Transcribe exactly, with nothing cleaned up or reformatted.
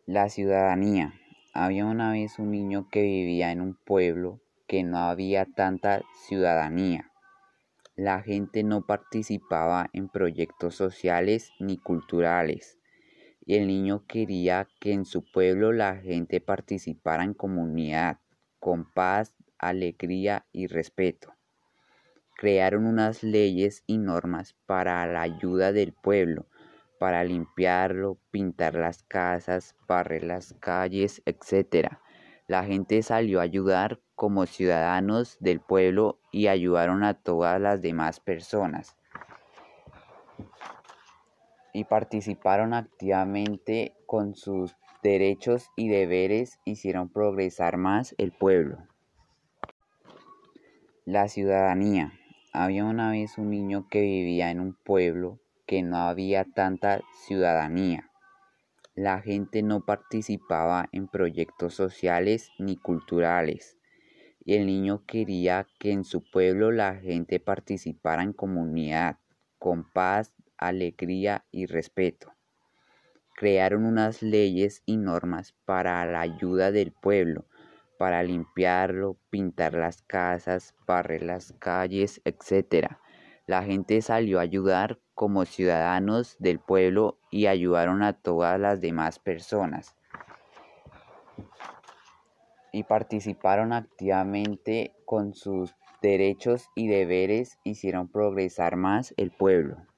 La ciudadanía. Había una vez un niño que vivía en un pueblo que no había tanta ciudadanía. La gente no participaba en proyectos sociales ni culturales, y el niño quería que en su pueblo la gente participara en comunidad, con paz, alegría y respeto. Crearon unas leyes y normas para la ayuda del pueblo, para limpiarlo, pintar las casas, barrer las calles, etcétera. La gente salió a ayudar como ciudadanos del pueblo y ayudaron a todas las demás personas y participaron activamente con sus derechos y deberes, hicieron progresar más el pueblo. La ciudadanía. Había una vez un niño que vivía en un pueblo que no había tanta ciudadanía. La gente no participaba en proyectos sociales ni culturales, y el niño quería que en su pueblo la gente participara en comunidad, con paz, alegría y respeto. Crearon unas leyes y normas para la ayuda del pueblo, para limpiarlo, pintar las casas, barrer las calles, etcétera. La gente salió a ayudar como ciudadanos del pueblo y ayudaron a todas las demás personas y participaron activamente con sus derechos y deberes, hicieron progresar más el pueblo.